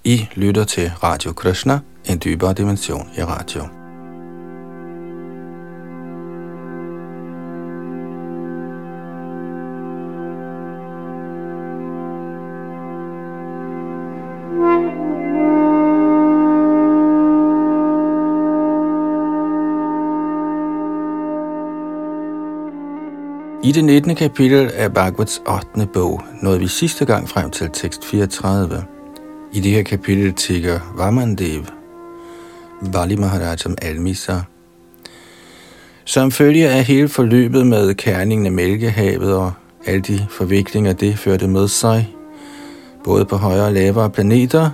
I lytter til Radio Krishna, en dybere dimension i radio. I det 19. kapitel af Bhagavats 8. bog nåede vi sidste gang frem til tekst 34. I det her kapitel tigger Vamandev Bali Maharaj som almisser. Som følge af hele forløbet med kærningen af Mælkehavet og alle de forviklinger, det førte med sig, både på højere og lavere planeter,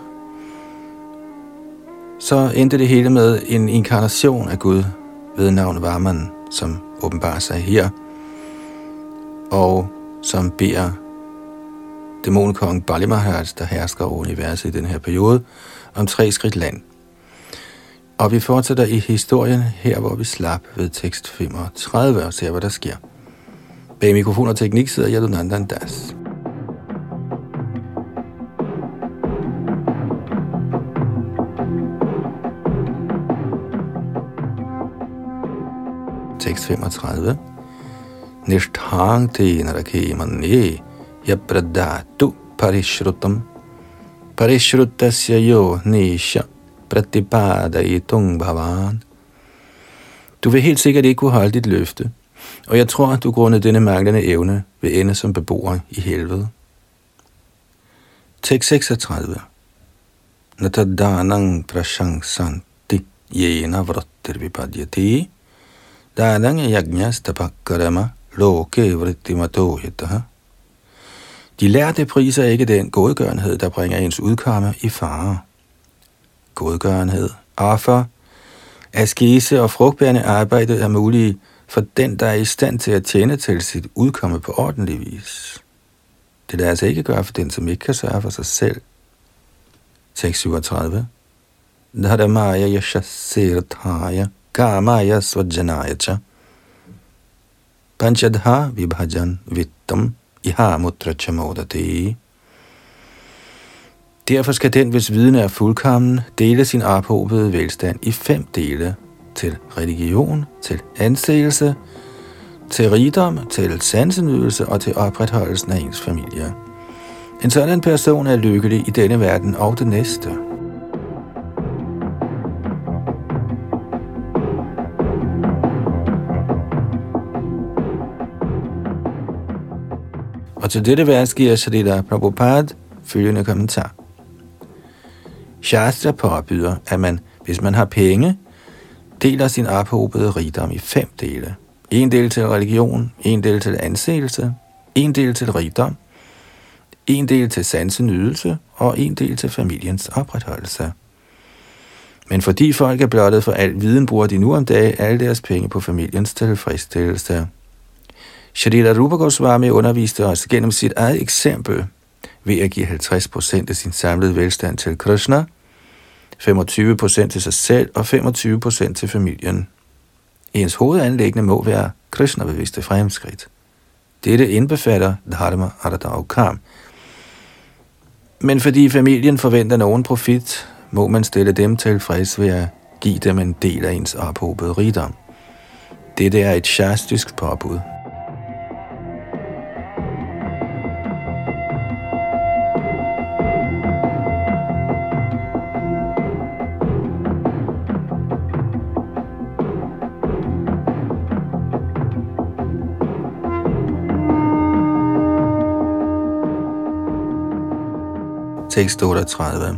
så endte det hele med en inkarnation af Gud ved navn Vaman, som åbenbarer sig her, og som beder dæmonkongen Bali Maharaj, der hersker over universet i den her periode, om 3 skridt land. Og vi fortsætter i historien her, hvor vi slap ved tekst 35 og ser, hvad der sker. Bag mikrofon og teknik sidder Yadunandan Das. Tekst 35. Nishtang te narakemanye yapradatu parishrutam parishrutasya yo nisha pratipadayitung bhavan. Du vil helt sikkert ikke kunne holde dit løfte, og jeg tror, at du grundet denne manglende evne vil ende som beboer i helvede. Tekst 36. Natadanang prashangsanti yena vrattir vipadyati danang yajnastapakarama loke vrittimato hitaha. De lærte priser ikke den godgørenhed, der bringer ens udkomme i fare. Godgørenhed, offer, askese og frugtbærende arbejde er mulige for den, der er i stand til at tjene til sit udkomme på ordentlig vis. Det lader sig ikke gøre for den, som ikke kan sørge for sig selv. Tekst 37. Dharamaya yashasirthaya kamaya svajanayacha panchadha vibhajan vittam iha mutra chamodati. Derfor skal den, hvis viden er fuldkommen, dele sin ophobede velstand i 5 dele, til religion, til anseelse, til rigdom, til sansenydelse og til opretholdelsen af ens familie. En sådan person er lykkelig i denne verden og det næste. Og til dette vers giver Srila Prabhupada følgende kommentar. Shastra påbyder, at man, hvis man har penge, deler sin ophobede rigdom i 5 dele. 1 del til religion, 1 del til anseelse, 1 del til rigdom, 1 del til sansenydelse og 1 del til familiens opretholdelse. Men fordi folk er blottet for al viden, bruger de nu om dagen alle deres penge på familiens tilfredsstillelse. Shrila Rupa Goswami underviste os gennem sit eget eksempel ved at give 50% af sin samlede velstand til Krishna, 25% til sig selv og 25% til familien. Ens hovedanliggende må være Krishna-bevidste fremskridt. Dette indbefatter dharma, artha og kam. Men fordi familien forventer nogen profit, må man stille dem tilfreds ved at give dem en del af ens ophobede rigdom. Dette er et shastrisk påbud. Tekst 38.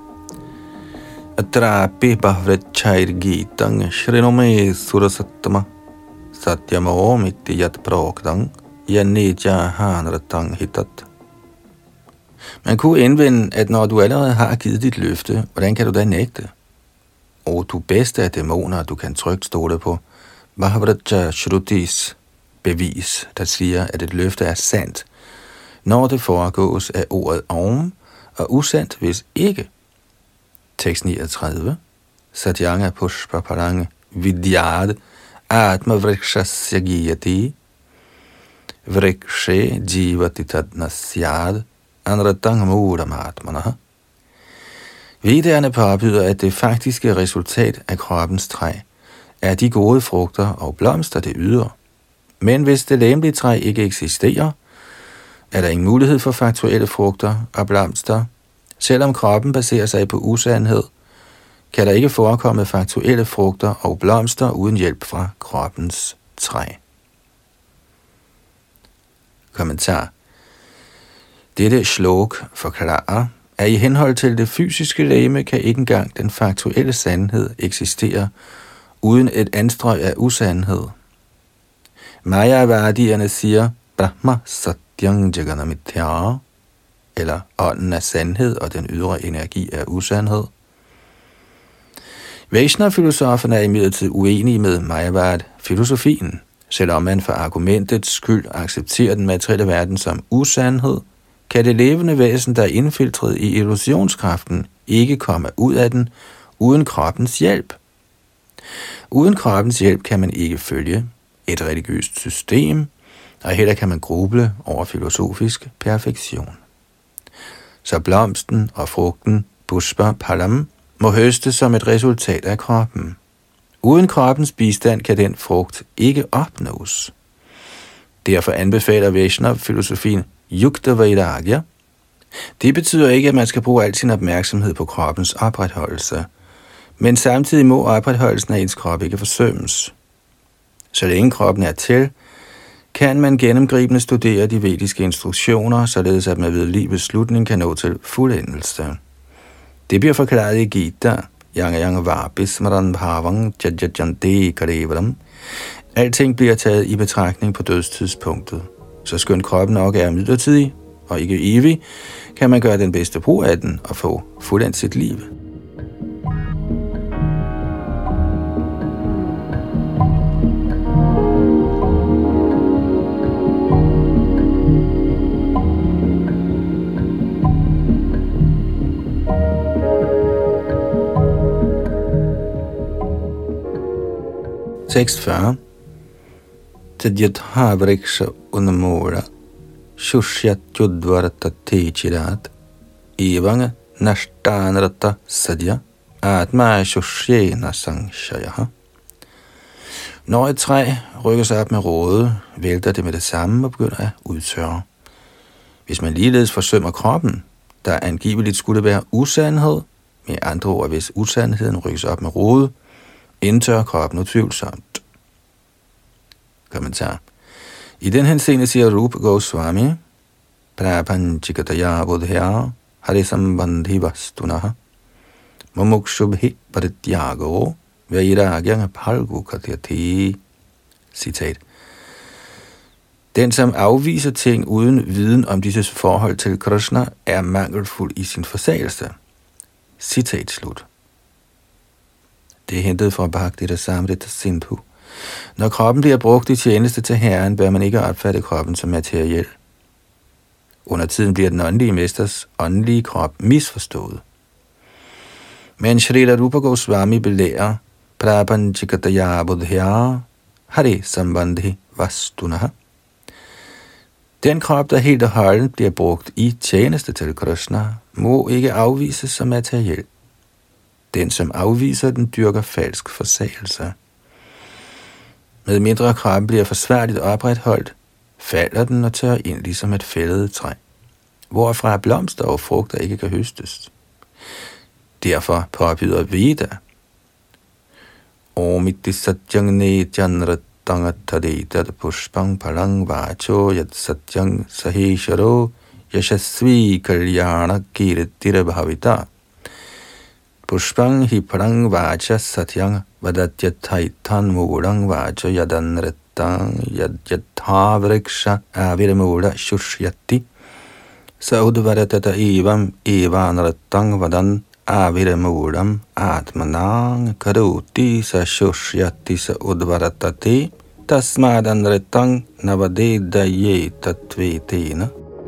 Atrapi bhavrachair gitang shrinome surasattama satyamo mittiyat prokdang yanitya hanratang hitat. Man kunne indvende, at når du allerede har givet dit løfte, hvordan kan du da nægte? Og du bedste af dæmoner, du kan trygt stole på Bhavracha Shrutis bevis, der siger, at et løfte er sandt, når det foregås af ordet om, og usandt, hvis ikke. Tekst 39. Satyanga pushpa parang vidyad atma vrikshasya giyati vrikshe jivati tad nasyad anratang muram atmanaha. Vedderne påbyder, at det faktiske resultat af kroppens træ er de gode frugter og blomster, det yder. Men hvis det legemlige træ ikke eksisterer, er der ingen mulighed for faktuelle frugter og blomster. Selvom kroppen baserer sig på usandhed, kan der ikke forekomme faktuelle frugter og blomster uden hjælp fra kroppens træ. Kommentar. Dette shlok forklarer, at i henhold til det fysiske legeme kan ikke engang den faktuelle sandhed eksistere uden et anstrøg af usandhed. Mayavadierne siger, Brahma satyang jaganamithya, eller ånden er sandhed, og den ydre energi er usandhed. Vaishnava-filosoferne er imidlertid uenige med Mayavad-filosofien. Selvom man for argumentets skyld accepterer den materielle verden som usandhed, kan det levende væsen, der er indfiltreret i illusionskraften, ikke komme ud af den uden kroppens hjælp. Uden kroppens hjælp kan man ikke følge et religiøst system, og heller kan man gruble over filosofisk perfektion. Så blomsten og frugten, pushpa palam, må høstes som et resultat af kroppen. Uden kroppens bistand kan den frugt ikke opnås. Derfor anbefaler Vaishnava-filosofien Yukta Vairagya. Det betyder ikke, at man skal bruge al sin opmærksomhed på kroppens opretholdelse, men samtidig må opretholdelsen af ens krop ikke forsømmes. Så længe kroppen er til, kan man gennemgribende studere de vediske instruktioner, således at man ved livets slutning kan nå til fuldendelse. Det bliver forklaret i Gita, Yang Vabhismaran Bhavang Jajajante Karevaram. Alting bliver taget i betragtning på dødstidspunktet. Så skønt kroppen nok er midlertidig og ikke evig, kan man gøre den bedste brug af den og få fuldendt sit liv. Tekst 40. Tadyatha vriksha unamura shushyat yudvarta techirat evanga nashtanrata sadya atma shushyena sangshayaha. Når et træ rykker sig op med råde, vælter det med det samme og begynder at udtørre. Hvis man ligeledes forsømmer kroppen, der angiveligt skulle være usandhed, med andre ord, hvis usandheden rykkes op med råde, indtørrer kroppen utvivlsomt. Kommentar. I den henseende siger Rupa Goswami, Prapanchikataya bodhya harisambandhi vastunaha mumukshubhi parityago vairagyanga palgu katyati. Citat. Den, som afviser ting uden viden om disse forhold til Krishna, er mangelfuld i sin forsagelse. Citat slut. Det er hentet fra Bhakti Rasamrita Sindhu. Når kroppen bliver brugt i tjeneste til Herren, bør man ikke opfatte kroppen som materiel. Under tiden bliver den åndelige mesters åndelige krop misforstået. Men Shrila Rupa Goswami belærer Prapanchikataya bodhya hari sambandhi vastunaha. Den krop, der helt og holdent bliver brugt i tjeneste til Krishna, må ikke afvises som materiel. Den, som afviser den, dyrker falsk forsagelse. Med mindre kroppen bliver forsværligt opretholdt, falder den og tørrer ind ligesom et fældet træ, hvorfra blomster og frugter ikke kan høstes. Derfor påbyder Veda Omiti satyang nejanratangatadeta pushpang palang vacho yat satyang sahesharo yashasvi kalyana kiritira bhavita pushpang hi palang vacha satyang vadatyataitan murang vacha yadanretang yadyatha vriksha aviramura shushyati saudvaratata evam evanretang vadan aviramuram atmanang karuti sa shushyati sa udvaratate tasmadanretang navadedaye tatvetena.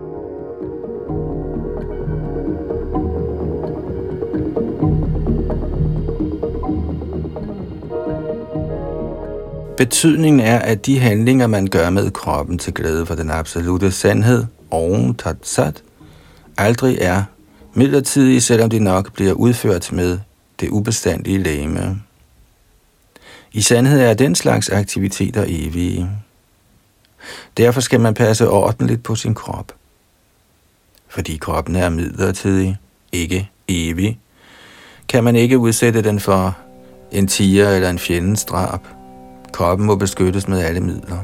Betydningen er, at de handlinger, man gør med kroppen til glæde for den absolute sandhed, Om Tat Sat, aldrig er midlertidige, selvom de nok bliver udført med det ubestandige legeme. I sandhed er den slags aktiviteter evige. Derfor skal man passe ordentligt på sin krop. Fordi kroppen er midlertidig, ikke evig, kan man ikke udsætte den for en tiger eller en fjendens drab. Kroppen må beskyttes med alle midler.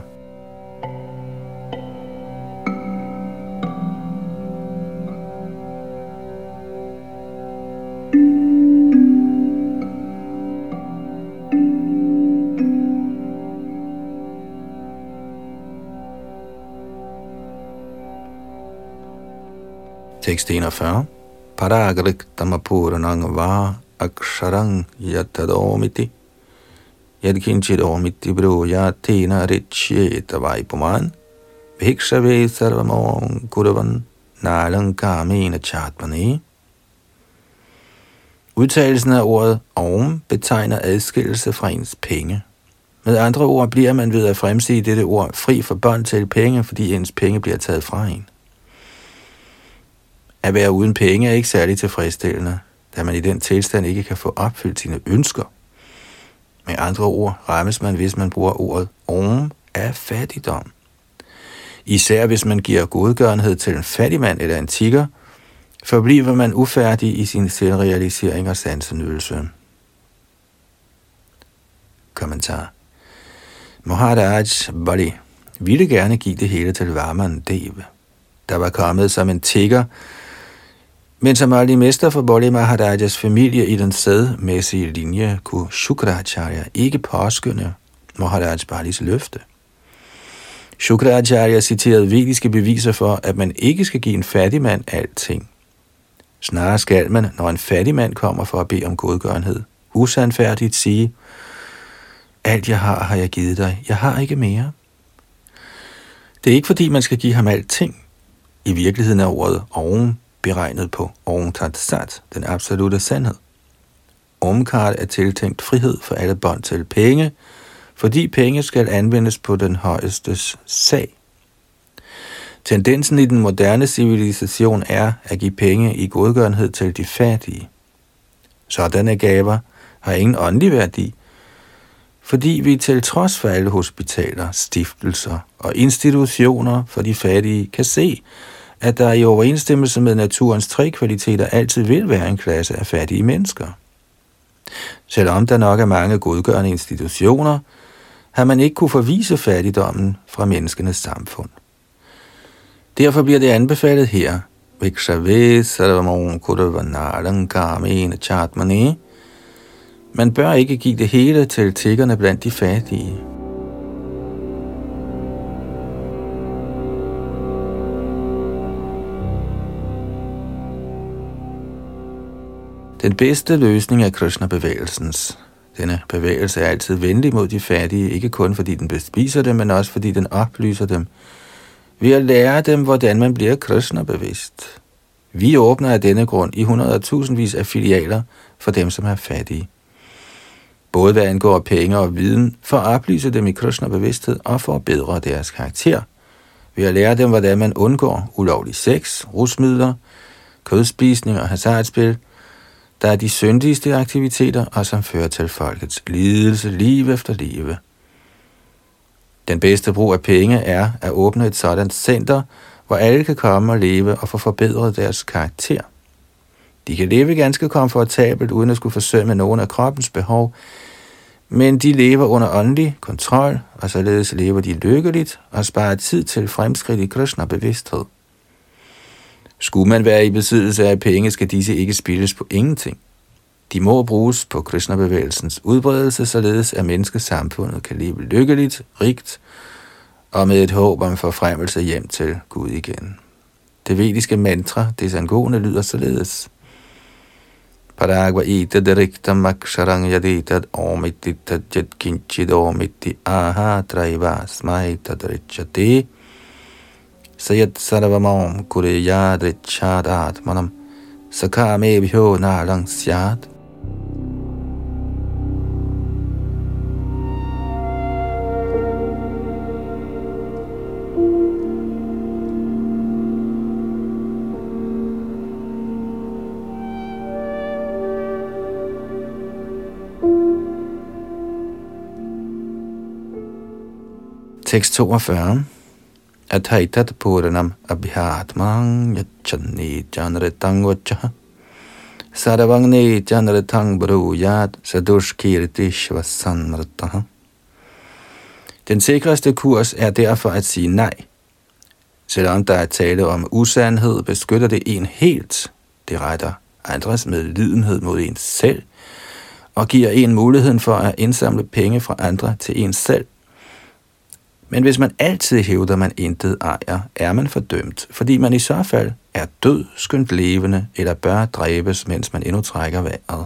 Tekst 41. Paragriktamapurnang va aksharang yatadomiti yadkinchidomiti brujatena richyeta vaipuman bhikshave sarvamon kudavan nalankamena chatmane. Udtalelsen af ordet om betegner adskillelse fra ens penge. Med andre ord bliver man ved at fremsige dette ord fri for bånd til penge, fordi ens penge bliver taget fra en. At være uden penge er ikke særlig tilfredsstillende, da man i den tilstand ikke kan få opfyldt sine ønsker. Med andre ord rammes man, hvis man bruger ordet om, af fattigdom. Især hvis man giver godgørenhed til en fattig mand eller en tigger, forbliver man ufærdig i sin selvrealisering og sansenydelse. Kommentar. Maharaj Bali ville gerne give det hele til Vaman Dev, der var kommet som en tigger, men som aldrig mester for Bali Maharajas familie i den sædmæssige linje, kunne Shukracharya ikke påskynde Maharaj Balis løfte. Shukracharya citerede vediske beviser for, at man ikke skal give en fattig mand alting. Snarere skal man, når en fattig mand kommer for at bede om godgørenhed, usandfærdigt sige: alt jeg har jeg givet dig, jeg har ikke mere. Det er ikke fordi man skal give ham alting. I virkeligheden er ordet Om beregnet på Om Tat Sat, den absolute sandhed. Omkart er tiltænkt frihed for alle bånd til penge, fordi penge skal anvendes på den højestes sag. Tendensen i den moderne civilisation er at give penge i godgørenhed til de fattige. Sådanne gaver har ingen åndelig værdi, fordi vi til trods for alle hospitaler, stiftelser og institutioner for de fattige kan se, at der i overensstemmelse med naturens tre kvaliteter altid vil være en klasse af fattige mennesker. Selvom der nok er mange godgørende institutioner, har man ikke kunne forvise fattigdommen fra menneskenes samfund. Derfor bliver det anbefalet her, man bør ikke give det hele til tiggerne blandt de fattige. Den bedste løsning er Krishna-bevægelsens. Denne bevægelse er altid venlig mod de fattige, ikke kun fordi den bespiser dem, men også fordi den oplyser dem, ved at lære dem, hvordan man bliver Krishna-bevidst. Vi åbner af denne grund i 100.000vis af filialer for dem, som er fattige. Både hvad angår penge og viden, for at oplyse dem i Krishna-bevidsthed og for at bedre deres karakter. Ved at lære dem, hvordan man undgår ulovlig sex, rusmidler, kødspisning og hasardspil, der er de syndigste aktiviteter, og som fører til folkets lidelse liv efter liv. Den bedste brug af penge er at åbne et sådan center, hvor alle kan komme og leve og få forbedret deres karakter. De kan leve ganske komfortabelt, uden at skulle forsømme nogen af kroppens behov, men de lever under åndelig kontrol, og således lever de lykkeligt og sparer tid til fremskridt i Krishna-bevidsthed. Skulle man være i besiddelse af penge, skal disse ikke spildes på ingenting. De må bruges på Krishna-bevægelsens udbredelse, således at menneskesamfundet kan leve lykkeligt, rigt og med et håb om forfremmelse hjem til Gud igen. Det vediske mantra, det angående, lyder således: Paragva itad riktam aksharang yaditad omititad jatkinchidomiti aha traiva smaitad richate sayat sarvamam kureyad richad atmanam sakame bhyo nalang syad. Tekst 42. Athaitat puranam abhyatmang yachanni janretang vachaha sarvangne janretang brujat sadushkirti shvasanrataha. Den sikreste kurs er derfor at sige nej. Selvom der er tale om usandhed, beskytter det en helt. Det retter andres medlidenhed mod en selv, og giver en muligheden for at indsamle penge fra andre til en selv. Men hvis man altid hævder, man intet ejer, er man fordømt, fordi man i så fald er død, skønt levende, eller bør dræbes, mens man endnu trækker vejret.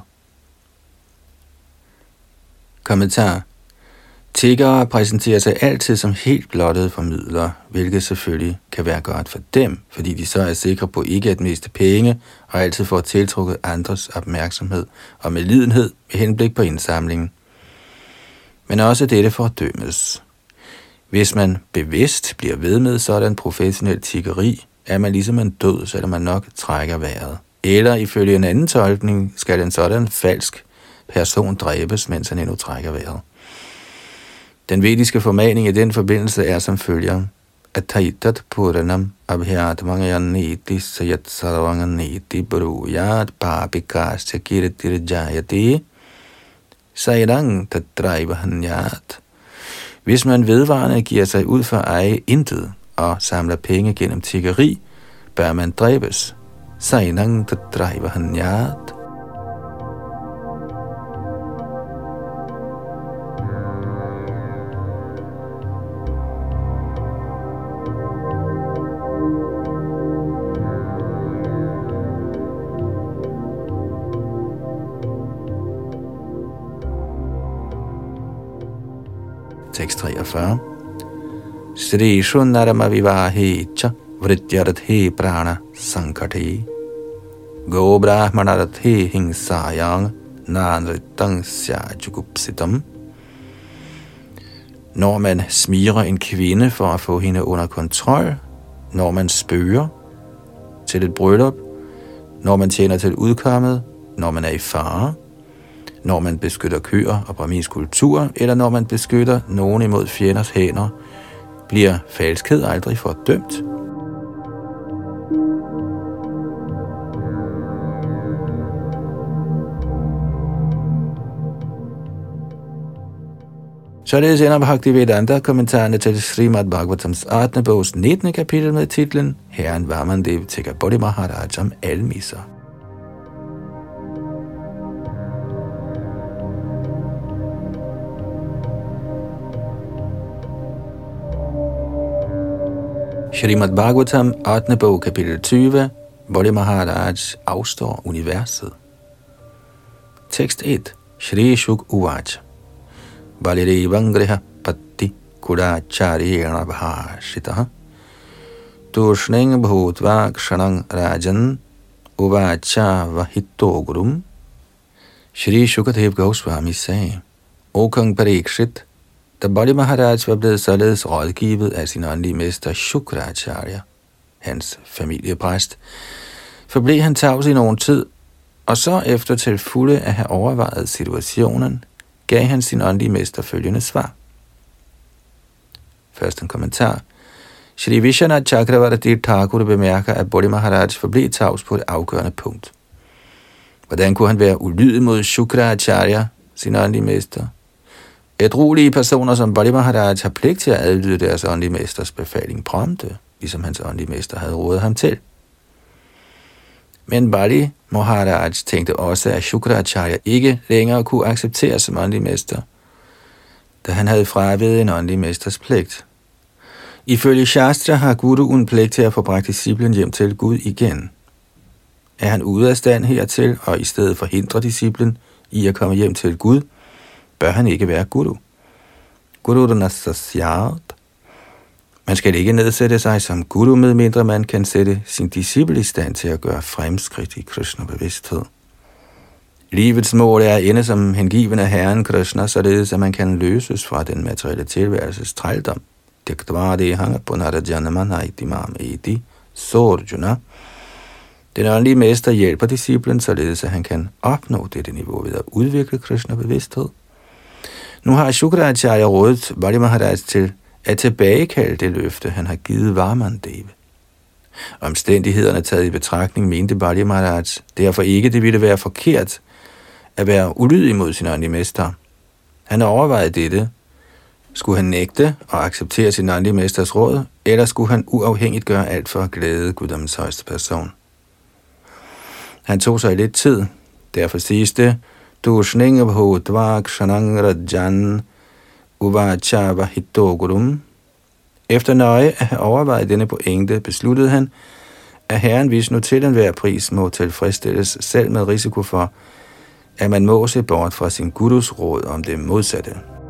Kommentar. Tiggere præsenterer sig altid som helt blottede formidlere, hvilket selvfølgelig kan være godt for dem, fordi de så er sikre på ikke at miste penge og altid får tiltrukket andres opmærksomhed og medlidenhed med henblik på indsamlingen. Men også dette fordømmes. Hvis man bevidst bliver ved med sådan professionel tiggeri, er man ligesom en død, selvom man nok trækker vejret. Eller ifølge en anden tolkning skal en sådan falsk person dræbes, mens han endnu trækker vejret. Den vediske formaning i den forbindelse er som følger: Athaitat puranam abhyatmanganeti sayat sarvanganeti brujat papikasya kirtirjayati sairang tadraivahanyat. Hvis man vedvarende giver sig ud for at eje intet og samler penge gennem tiggeri, bør man dræbes. Sairang tadraivahanyat. Tekst 43. Sri Shunarama Vivahecha Vrityarthe Prana Sankate Go Brahmanarthe Hingsayang Nanritang Syajugupsitam. Når man smirer en kvinde for at få hende under kontrol, når man spøger til et bryllup, når man tjener til udkommet, når man er i fare, når man beskytter køer og brahminsk kultur, eller når man beskytter nogen imod fjenders hænder, bliver falskhed aldrig fordømt. Således ender Bhaktivedanta kommentarerne til Srimad Bhagavatams 8. bogs 19. kapitel med titlen Herren Vamandev Tigger Bodhi Maharaj om almisser. Srimad Bhagavatam, 8. bog, kapitel 20, Bodhi Maharaj afstår universet. Tekst 1. Shri Shuk Uvacha Balirevangriha Patti Kudachariyana Bhashitaha Tushning Bhutva Kshanang Rajan Uvacha Vahitogurum. Shri Shukadev Goswami sagde: O kong Parikshit, da Bodhi Maharaj var blevet således rådgivet af sin åndelige mester Shukracharya, hans familiepræst, forblev han tavs i nogen tid, og så efter til fulde at have overvejet situationen, gav han sin åndelige mester følgende svar. Først en kommentar. Shri Vishwanath Chakravarti Thakur bemærker, at Bodhi Maharaj forblev tavs på et afgørende punkt. Hvordan kunne han være ulydig mod Shukracharya, sin åndelige mester? Ædruelige personer som Bodhi Maharaj har pligt til at adlyde deres åndelige mesters befaling prompte, ligesom hans åndelige mester havde rådet ham til. Men Bodhi Maharaj tænkte også, at Shukracharya ikke længere kunne accepteres som åndelig mester, da han havde fraveget en åndelig mesters pligt. Ifølge Shastra har guruen pligt til at få bragt disciplen hjem til Gud igen. Er han ude af stand hertil, og i stedet forhindre disciplen i at komme hjem til Gud, bør han ikke være guru. Guru-nasasyat. Man skal ikke nedsætte sig som guru, medmindre man kan sætte sin disciple i stand til at gøre fremskridt i Krishna-bevidsthed. Livets mål er at ende som hengiven af Herren Krishna, således at man kan løses fra den materielle tilværelses trældom. Den åndelige mester hjælper disciplen, således at han kan opnå dette niveau ved at udvikle Krishna-bevidsthed. Nu har Shukracharya rådet Bodhi Maharaj til at tilbagekalde det løfte, han har givet Vamandeva. Omstændighederne taget i betragtning mente Bali Maharaj derfor ikke, det ville være forkert at være ulydig mod sin åndelige mester. Han overvejede dette. Skulle han nægte og acceptere sin åndelige mesters råd, eller skulle han uafhængigt gøre alt for at glæde Guddommens højeste person? Han tog sig lidt tid. Derfor siges det, Dushninga bhutva kshanang rajan uvachava hitogurum. Efter nøje at have overvejet denne pointe, besluttede han, at Herren Vishnu til enhver pris må tilfredsstilles, selv med risiko for, at man må se bort fra sin gurus råd om det modsatte.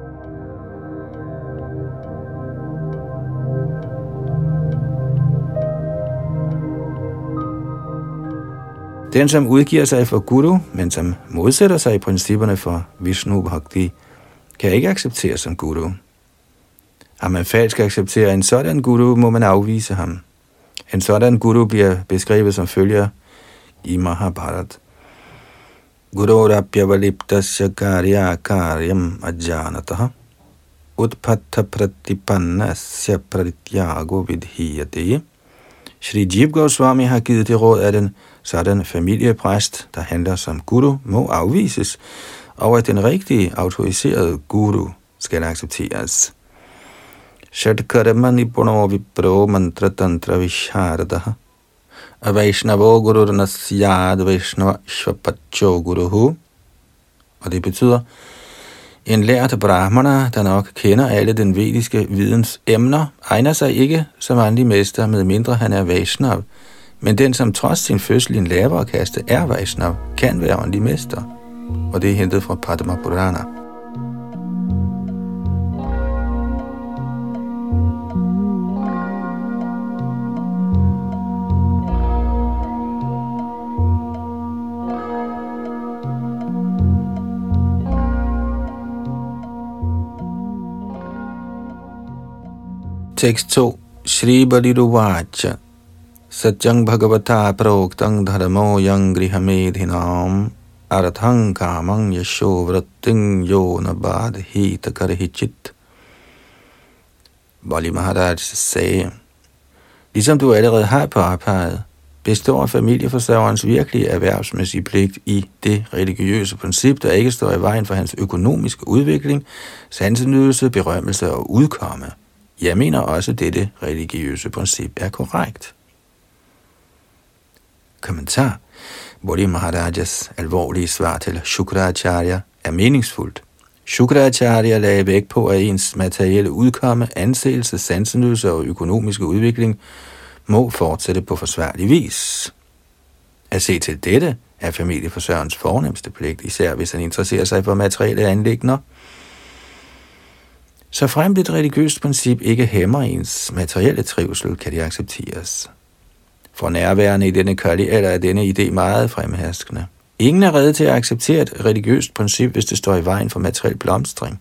Den, som udgiver sig for guru, men som modsætter sig i principperne for Vishnu Bhakti, kan ikke accepteres som guru. Har man falsk accepterer en sådan guru, må man afvise ham. En sådan guru bliver beskrevet som følger i Mahabharat. Gururapyavaliptasya karya karyam ajanataha utpatta pratipannasya pratyago vidhiyate. Shri Jiva Goswami har givet det råd, at en sådan familiepræst, der handler som guru, må afvises, og at den rigtige autoriserede guru skal accepteres. Shadkarmani puno vipro mantra tantra visharadaha Vaishnavo gururnasyad Vaishnava shvapacho guruhu. Og det betyder, en lært brahmana, der nok kender alle den vediske videns emner, egner sig ikke som åndelig mester, med mindre han er Vaishnav. Men den, som trods sin fødsel i en lavere kaste er Vaishnav, kan være åndelig mester. Og det er hentet fra Padma Purana. Tekst 2. Shri Baliruvacha Satyang Bhagavata Proktang Dharmo Yang Grihamedhinam Arathang Kamang Yasho Vratting Yona Badhita Karhichit. Bali Maharaj sagde, ligesom du allerede har påpeget, består familieforsørgerens virkelige erhvervsmæssige pligt i det religiøse princip, der ikke står i vejen for hans økonomiske udvikling, sansenydelse, berømmelse og udkomme. Jeg mener også, at dette religiøse princip er korrekt. Kommentar. Bali Maharajas alvorlige svar til Shukracharya er meningsfuldt. Shukracharya lagde vægt på, at ens materielle udkomme, anseelse, sansenydelse og økonomiske udvikling må fortsætte på forsvarlig vis. At se til dette er familieforsørgerens fornemste pligt, især hvis han interesserer sig for materielle anliggender. Så fremt et religiøst princip ikke hæmmer ens materielle trivsel, kan det accepteres. For nærværende i denne kørlige alder er denne idé meget fremherskende. Ingen er rede til at acceptere et religiøst princip, hvis det står i vejen for materiel blomstring.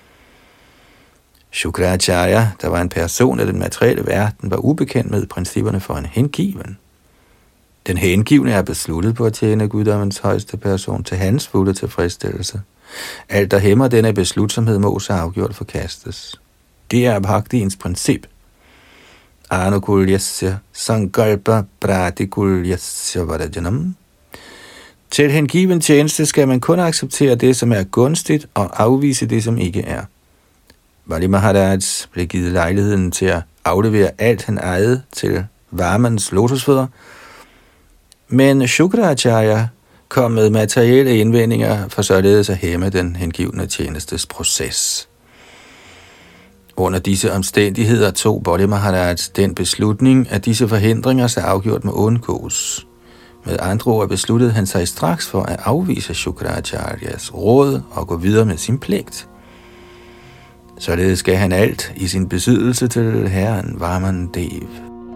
Shukracharya, der var en person af den materielle verden, var ubekendt med principperne for en hengiven. Den hengivne er besluttet på at tjene guddommens højeste person til hans fulde tilfredsstillelse. Alt, der hæmmer denne beslutsomhed, må så afgjort forkastes. Det er bhaktiens princip. Anukulyasya sankalpa pratikulyasya varajanam. Til hengiven tjeneste skal man kun acceptere det, som er gunstigt, og afvise det, som ikke er. Bali Maharaj blev givet lejligheden til at aflevere alt, han ejede til Vamans lotusfødder, men Shukracharya kom med materielle indvendinger for således at hæmme den hengivne tjenestes proces. Under disse omstændigheder tog Bali Maharaj den beslutning, at disse forhindringer så afgjort må undgås. Med andre ord besluttede han sig straks for at afvise Shukracharyas råd og gå videre med sin pligt. Således gav han alt i sin besiddelse til herren Vamandev.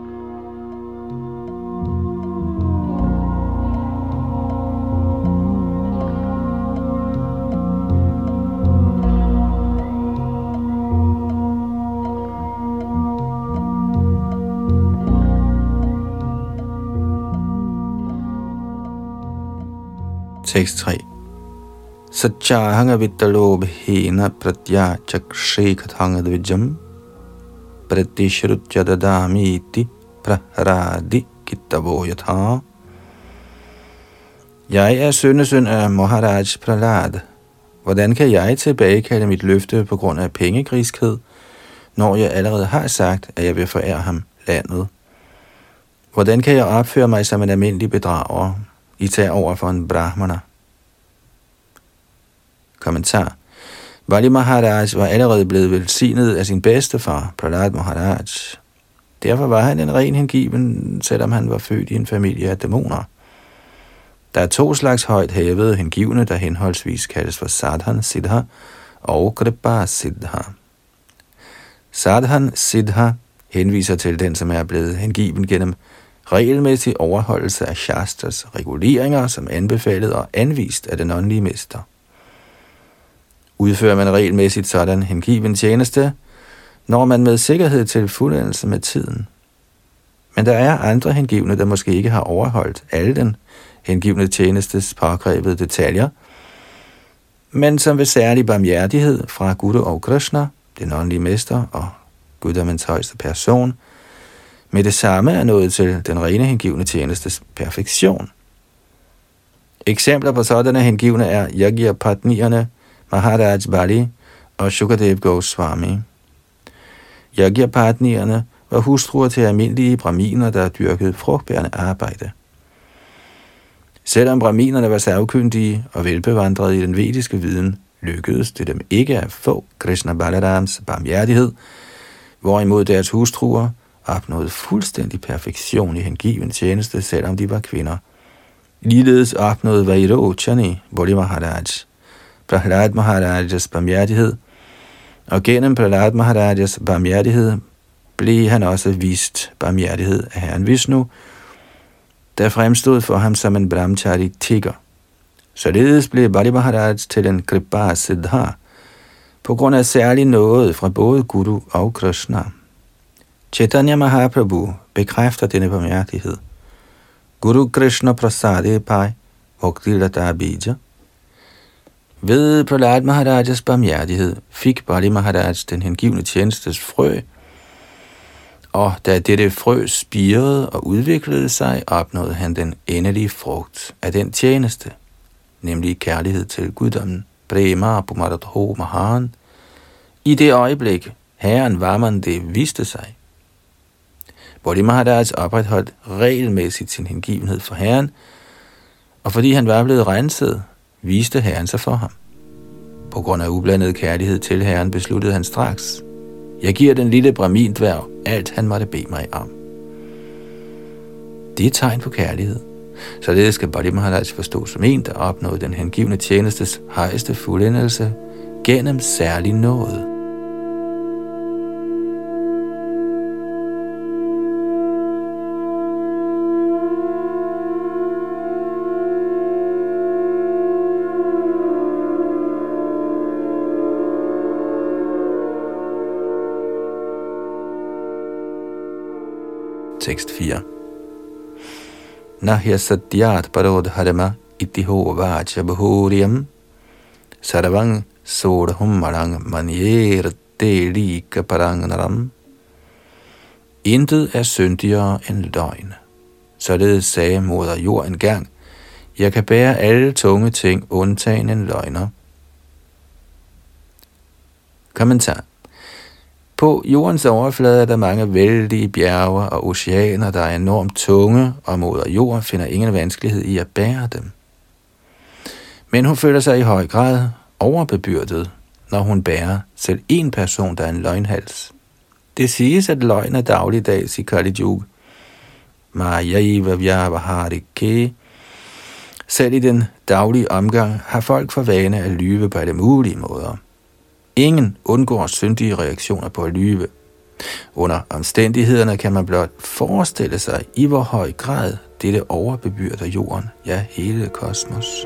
Tekst 3. Satchahanga vittalobhena pratya chakshekhathanga dvijam pratishrutjadadamiti praharadi kittavoyatha. Jeg er sønnesøn af Maharaj Prahlad. Hvordan kan jeg tilbagekalde mit løfte på grund af pengegriskhed, når jeg allerede har sagt, at jeg vil forære ham landet? Hvordan kan jeg opføre mig som en almindelig bedrager, især over for en brahmana? Kommentar. Bali Maharaj var allerede blevet velsignet af sin bedstefar, Prahlad Maharaj. Derfor var han en ren hengiven, selvom han var født i en familie af dæmoner. Der er 2 slags højt hævede hengivne, der henholdsvis kaldes for Sadhan Siddha og Kripa Siddha. Sadhan Siddha henviser til den, som er blevet hengiven gennem regelmæssig overholdelse af Shastras reguleringer, som anbefalet og anvist af den åndelige mester. Udfører man regelmæssigt sådan hengiven tjeneste, når man med sikkerhed til fuldendelse med tiden. Men der er andre hengivne, der måske ikke har overholdt alle den hengivne tjenestes påkrævede detaljer, men som ved særlig barmhjertighed fra Guru og Krishna, den åndelige mester og guddommens højeste person, med det samme er nået til den rene hengivne tjenestes perfektion. Eksempler på sådanne hengivne er Yajna-patnierne, Maharaj Bali og Shukadev Goswami. Yajna-patnierne var hustruer til almindelige brahminer, der dyrkede frugtbærende arbejde. Selvom brahminerne var sagkyndige og velbevandrede i den vediske viden, lykkedes det dem ikke at få Krishna Balarams barmhjertighed, hvorimod deres hustruer opnåede fuldstændig perfektion i hengiven tjeneste, selvom de var kvinder. Ligeledes opnåede Vairochani, Bali Maharaj, Prahlad Maharajas barmhjertighed, og gennem Prahlad Maharajas barmhjertighed blev han også vist barmhjertighed af Herren Vishnu, der fremstod for ham som en brahmachari tigger. Således blev Bali Maharaj til en Kripa Siddha, på grund af særlig noget fra både Guru og Krishna. Chaitanya Mahaprabhu bekræfter denne barmhjertighed. Guru Krishna Prasade Pai Bhaktilata Bija. Ved Prahlad Maharajas barmhjertighed fik Bali Maharaj den hengivne tjenestes frø, og da dette frø spirede og udviklede sig, opnåede han den endelige frugt af den tjeneste, nemlig kærlighed til guddommen, Prema Pumaradho Mahan. I det øjeblik, Herren Vaman det viste sig. Bali Maharaj opretholdt regelmæssigt sin hengivenhed for Herren, og fordi han var blevet renset, viste Herren sig for ham. På grund af ublandet kærlighed til Herren besluttede han straks: jeg giver den lille brahmin-dværg alt, han måtte bede mig om. Det er et tegn på kærlighed. Således skal Bali Maharaj forstås som en, der opnåede den hengivne tjenestes højeste fuldendelse gennem særlig nåde. Tekst 4. Nahya satyat parodharma itiho vacha bahuriyam sarvang sodhum marang manier delika parangnaram. Intet er syndigere end løgn. Således sagde moder jord engang: jeg kan bære alle tunge ting undtagen en løgner. Kommentar. På jordens overflade er der mange vældige bjerge og oceaner, der er enormt tunge, og moder jord finder ingen vanskelighed i at bære dem. Men hun føler sig i høj grad overbebyrdet, når hun bærer selv en person, der er en løgnhals. Det siges, at løgn er dagligdags i Kali Yuga. Mājaiva vyavaharike. Selv i den daglige omgang har folk for vane at lyve på alle mulige måder. Ingen undgår syndige reaktioner på at lyve. Under omstændighederne kan man blot forestille sig, i hvor høj grad dette overbebyrder jorden, ja hele kosmos.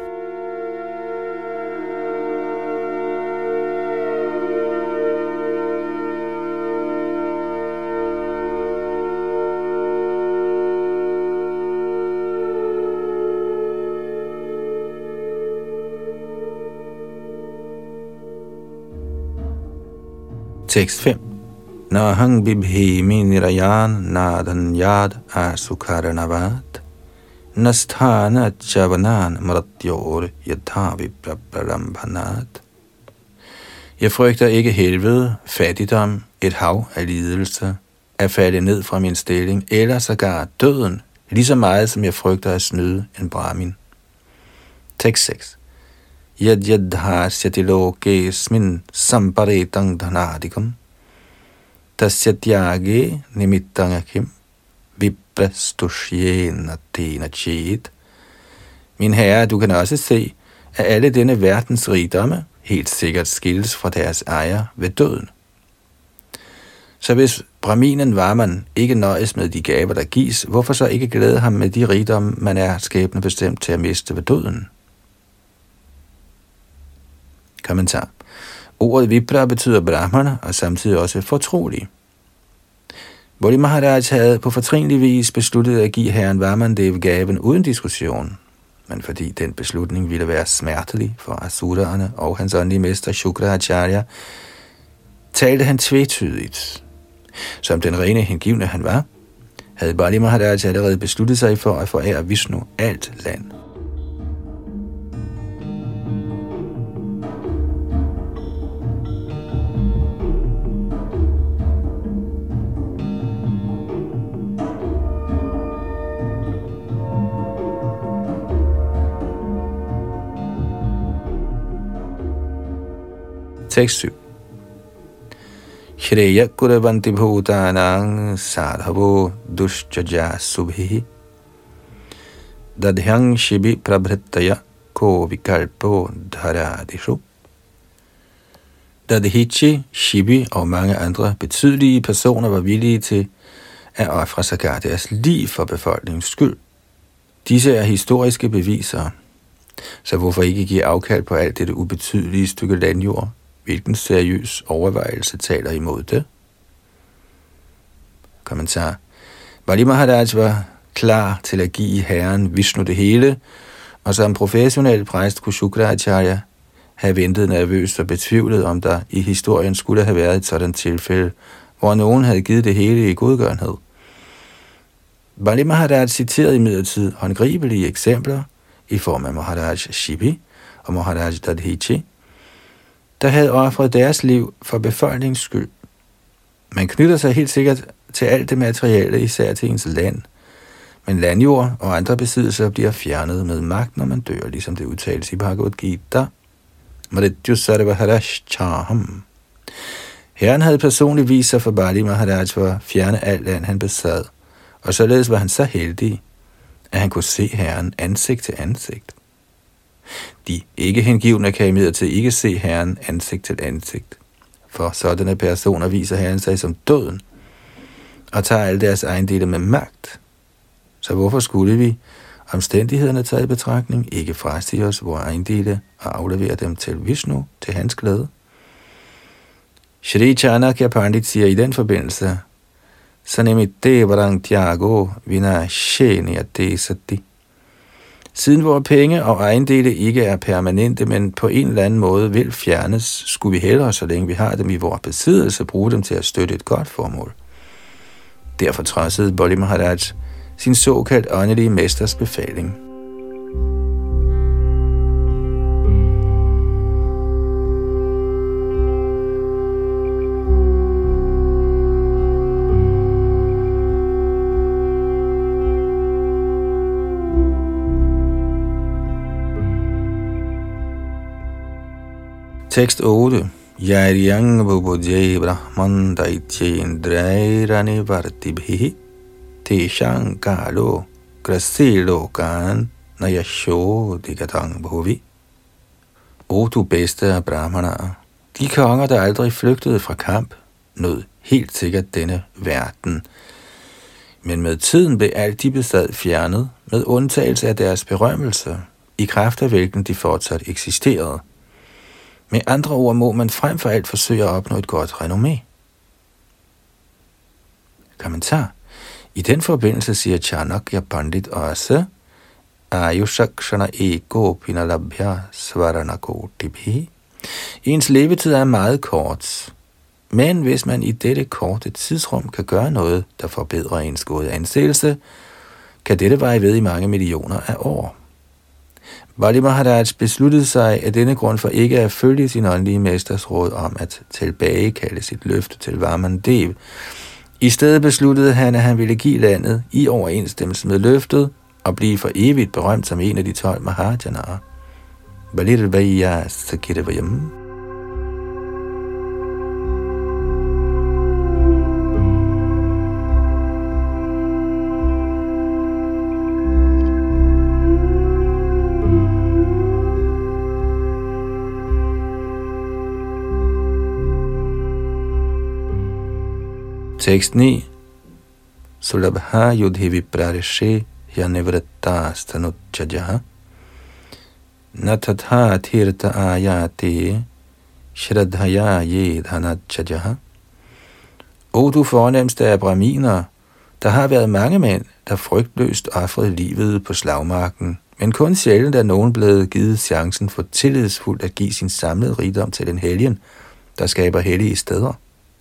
Tekst 5. Nahang bibhemi nirayan nadan yad asukaranavat nasthana javanan mratyor yadhavi prabharambanat. Jeg frygter ikke helvede, fattigdom, et hav af lidelse, at falde ned fra min stilling, eller sågar døden, lige så meget som jeg frygter at snyde en brahmin. Tekst 6. Yad yadhasyati lokesmin samparetang dhanadikum tasyatyage nimittang viprastushena tena chet. Min herre, du kan også se, at alle denne verdens rigdomme helt sikkert skilles fra deres ejer ved døden. Så hvis brahminen Varman ikke nøjes med de gaver, der gives, hvorfor så ikke glæde ham med de rigdomme, man er skæbnebestemt til at miste ved døden? Kommentar. Ordet vipra betyder brahmana og samtidig også fortrolig. Bodhi Maharaj havde på fortrinlig vis besluttet at give herren Vamandev gaven uden diskussion, men fordi den beslutning ville være smertelig for asuraerne og hans åndelige mester Shukracharya, talte han tvetydigt. Som den rene hengivne han var, havde Bodhi Maharaj allerede besluttet sig for at forære Vishnu alt land. Tekst 7. Shreya kuravanti bhutanang sadhavo dushjaja subhi dadhyang shibi prabhritaya ko vikalpo dharadishu. Dadhichi, Shibi og mange andre betydelige personer var villige til at ofre sågar deres liv for befolkningens skyld. Disse er historiske beviser, så hvorfor ikke give afkald på alt dette ubetydelige stykke landjord? Hvilken seriøs overvejelse taler imod det? Kommentar. Bodhi Maharaj var klar til at give herren Vishnu det hele, og som professionel præst kunne Shukracharya have ventet nervøst og betvivlet, om der i historien skulle have været et sådan tilfælde, hvor nogen havde givet det hele i godgørenhed. Bodhi Maharaj citerede imidlertid håndgribelige eksempler i form af Maharaj Shibi og Maharaj Dadhichi, der havde offret deres liv for befolkningens skyld. Man knytter sig helt sikkert til alt det materielle, især til ens land. Men landjord og andre besiddelser bliver fjernet med magt, når man dør, ligesom det udtales i Bhagavad Gita. Herren havde personligt vist sig for Bodhi Maharaj for at fjerne alt land, han besad, og således var han så heldig, at han kunne se herren ansigt til ansigt. De ikke hengivne kan imidlertid ikke se herren ansigt til ansigt, for sådanne personer viser herren sig som døden og tager alle deres ejendele med magt. Så hvorfor skulle vi, omstændighederne taget i betragtning, ikke frasige os vores ejendele og aflevere dem til Vishnu til hans glæde? Shri Chanakya Pandit siger i den forbindelse, Sanimitte varang tyago vina sheniyate sati. Siden vores penge og ejendele ikke er permanente, men på en eller anden måde vil fjernes, skulle vi hellere, så længe vi har dem i vores besiddelse, bruge dem til at støtte et godt formål. Derfor trodsede Bodhi Maharaj sin såkaldt åndelige mesters befaling. Tekst 8. Yaryang vubudye brahman daityendrairani vartibhi teshang kalo grasilokan nayasho digatang bhuvi. O du bedste af brahmanaer, de konger, der aldrig flygtede fra kamp, nød helt sikkert denne verden. Men med tiden blev alt de besad fjernet, med undtagelse af deres berømmelse, i kraft af hvilken de fortsat eksisterede. Med andre ord må man frem for alt forsøge at opnå et godt renommé. Kommentar. I den forbindelse siger Chanakya Pandit også, Ayushakshana ego pinalabhya svaranakotibhi. Ens levetid er meget kort, Men hvis man i dette korte tidsrum kan gøre noget, der forbedrer ens gode anseelse, kan dette veje ved i mange millioner af år. Bali Maharaj besluttede sig af denne grund for ikke at følge sin åndelige mesters råd om at tilbagekalde sit løfte til Vaman Dev. I stedet besluttede han, at han ville give landet i overensstemmelse med løftet og blive for evigt berømt som en af de 12 Mahajanaer. Balirvaya Sakirvayam. Tekst 9. Sulabha yudhi viprarishe yanivratta stanutchajaha natatha tirta ayate shraddhaya yedhanatchajaha. O du fornemste af brahminer, der har været mange mænd, der frygtløst ofrede livet på slagmarken, men kun sjældent er nogen blevet givet chancen for tillidsfuldt at give sin samlede rigdom til den helgen, der skaber hellige steder.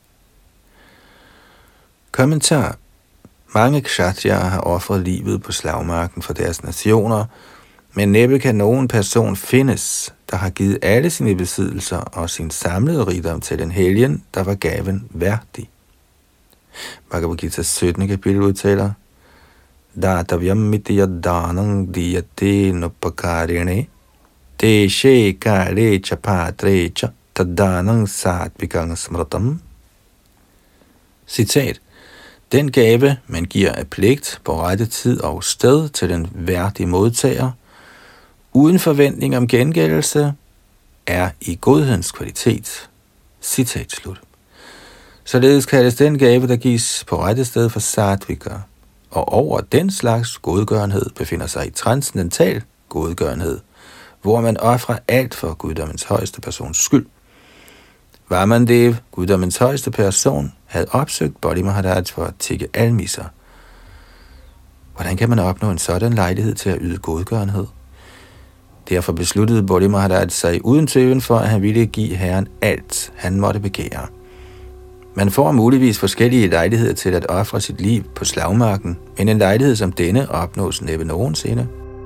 Kommentar. Mange kshatriyaer har ofret livet på slagmarken for deres nationer, men næppe kan nogen person findes, der har givet alle sine besiddelser og sin samlede rigdom til den helgen, der var gaven værdig. Bhagavad Gita 17. kapitel udtaler: Datavyam mitya danang diyate nupakarine deshe kare chapatre cha tadanang satvikang smratam. Citat. Den gave, man giver af pligt på rette tid og sted til den værdige modtager, uden forventning om gengældelse, er i godhedens kvalitet. Citat slut. Således kaldes den gave, der gives på rette sted for sattvika, og over den slags godgørenhed befinder sig i transcendental godgørenhed, hvor man ofrer alt for guddommens højeste persons skyld. Vaman Dev, guddommens højeste person, havde opsøgt Bali Maharaj for at tikke almisser. Hvordan kan man opnå en sådan lejlighed til at yde godgørenhed? Derfor besluttede Bali Maharaj sig uden tøven for, at han ville give Herren alt, han måtte begære. Man får muligvis forskellige lejligheder til at ofre sit liv på slagmarken, men en lejlighed som denne opnås næppe nogensinde.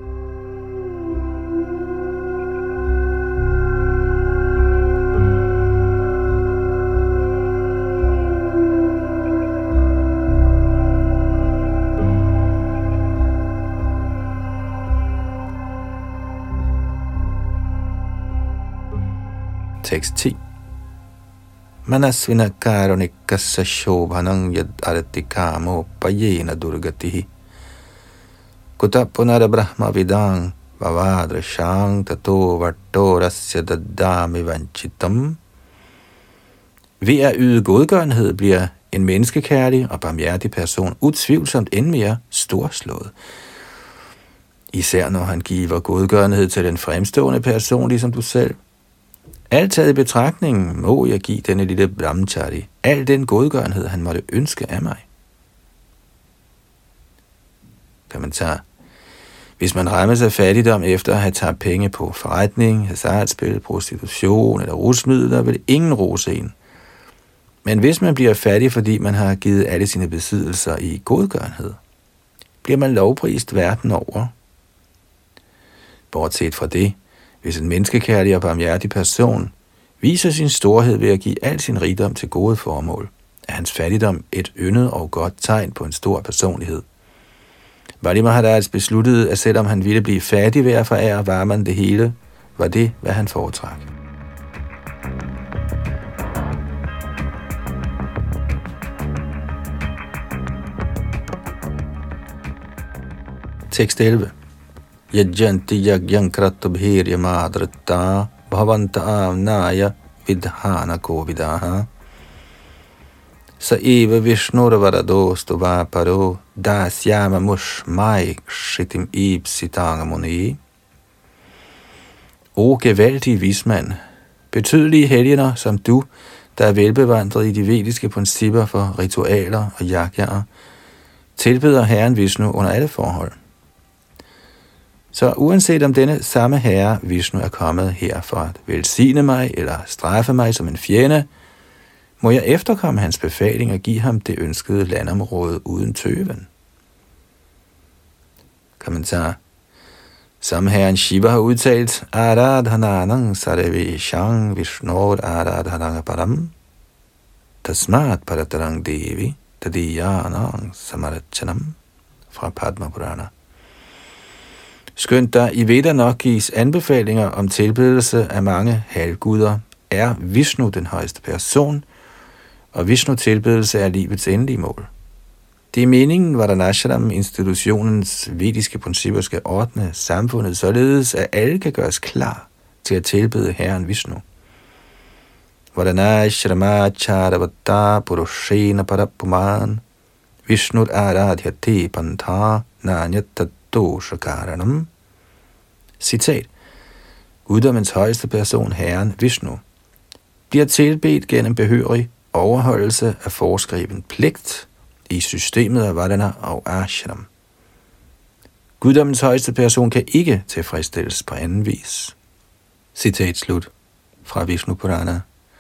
Tekst 10. Manasvina karunikassa shobhanang yad artikamo payena durgatihi kutapunara brahma vidang vavadrashang tato vartorasya daddami vanchitam. Ved at yde godgørenhed bliver en menneskekærlig og barmhjertig person utvivlsomt end mere storslået. Især når han giver godgørenhed til den fremstående person, ligesom du selv. Alt taget i betragtning må jeg give denne lille brahmachari al den godgørenhed, han måtte ønske af mig. Kommentar. Hvis man rammes af fattigdom efter at have taget penge på forretning, hasardspil, prostitution eller rusmidler, vil ingen rose en. Men hvis man bliver fattig, fordi man har givet alle sine besiddelser i godgørenhed, bliver man lovprist verden over. Bortset fra det, hvis en menneskekærlig og barmhjertig person viser sin storhed ved at give al sin rigdom til gode formål, er hans fattigdom et yndet og godt tegn på en stor personlighed. Bali Maharaj besluttede, at selvom han ville blive fattig ved at forære Vaman det hele, var det, hvad han foretrak. Tekst 11. Yajjanti yajjan kratubhirya madritta bhavanta amnaya vidhana kovidaha sa eva vishnurvaradostu vaparo dasyama mushmai shitim ipsitangamuni. O gevaldige vismand, betydelige helgener som du, der er velbevandret i de vediske principper for ritualer og yajnaer, tilbeder Herren Vishnu under alle forhold. Så uanset om denne samme herre, Vishnu, er kommet her for at velsigne mig eller straffe mig som en fjende, Må jeg efterkomme hans befaling og give ham det ønskede landområde uden tøven? Kommentar. Som herren Shiva har udtalt, Aradhananang sarveshang vishnod aradhanang param tasmat paratarang devi tadiyanang samarachanam fra Padma Purana. Skønt der i Veda nok gives anbefalinger om tilbedelse af mange halvguder, er Vishnu den højeste person, og Vishnu tilbedelse er livets endelige mål. Det er meningen, Varanashram institutionens vediske principper skal ordne samfundet således, at alle kan gøres klar til at tilbede Herren Vishnu. Varanashramacharavatta purushena parapuman Vishnut aradhyate pantha nanyatadoshakaranam. Citat. Guddommens højeste person, Herren Vishnu, bliver tilbedt gennem behørig overholdelse af foreskreven pligt i systemet af Vardhana og Ashram. Guddommens højeste person kan ikke tilfredsstilles på anden vis. Citat slut fra Vishnu Purana